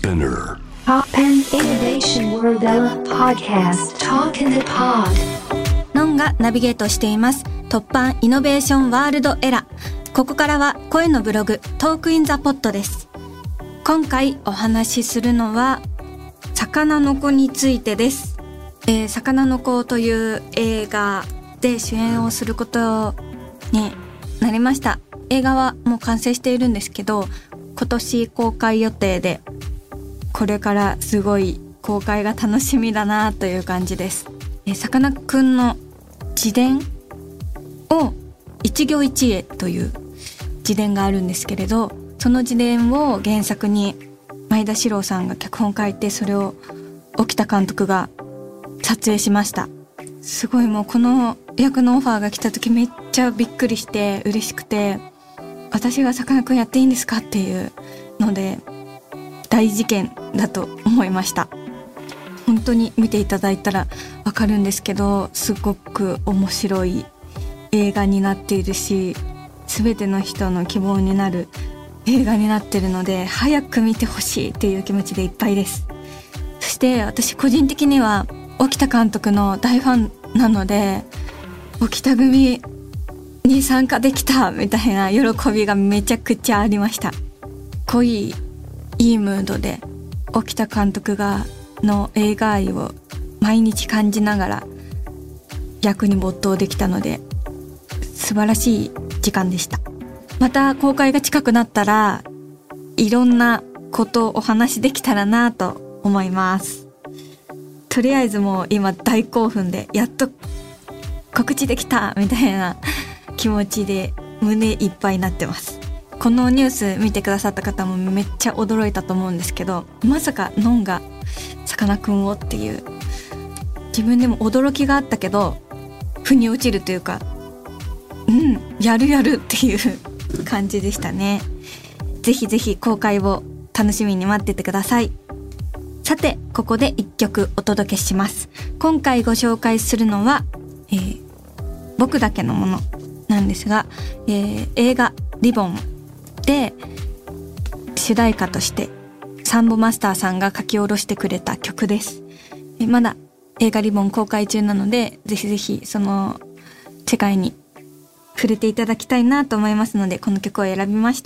Spinner Poppen Innovation World Ella Podcast Talk in the Pod ノンがナビゲートしています突破イノベーションワールドエラ。ここからは声のブログトークインザポッドです。今回お話しするのは魚の子についてです。魚の子という映画で主演をすることになりました。映画はもう完成しているんですけど、今年公開予定で、これからすごい公開が楽しみだなという感じです。さかなクンの自伝を一行一会という自伝があるんですけれど、その自伝を原作に前田史郎さんが脚本書いて、それを沖田監督が撮影しました。すごいもうこの役のオファーが来た時めっちゃびっくりして嬉しくて、私がさかなクンやっていいんですかっていうので大事件だと思いました。本当に見ていただいたらわかるんですけど、すごく面白い映画になっているし、全ての人の希望になる映画になっているので、早く見てほしいっていう気持ちでいっぱいです。そして私個人的には沖田監督の大ファンなので、沖田組に参加できたみたいな喜びがめちゃくちゃありました。濃いいいムードで沖田監督の映画愛を毎日感じながら役に没頭できたので、素晴らしい時間でした。また公開が近くなったらいろんなことをお話できたらなと思います。とりあえずもう今大興奮で、やっと告知できたみたいな気持ちで胸いっぱいになってます。このニュース見てくださった方もめっちゃ驚いたと思うんですけど、まさかノンがさかなクンをっていう、自分でも驚きがあったけど腑に落ちるというか、やるっていう感じでしたね。ぜひぜひ公開を楽しみに待っててください。さてここで1曲お届けします。今回ご紹介するのは、僕だけのものなんですが、映画リボンで主題歌としてサンボマスターさんが書き下ろしてくれた曲です。まだ映画リボン公開中なので、ぜひぜひその世界に触れていただきたいなと思いますので、この曲を選びました。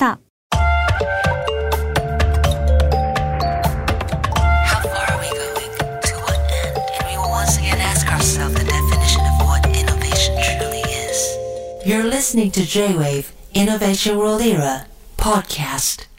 You're listening to J-Wave Innovation World Era Podcast.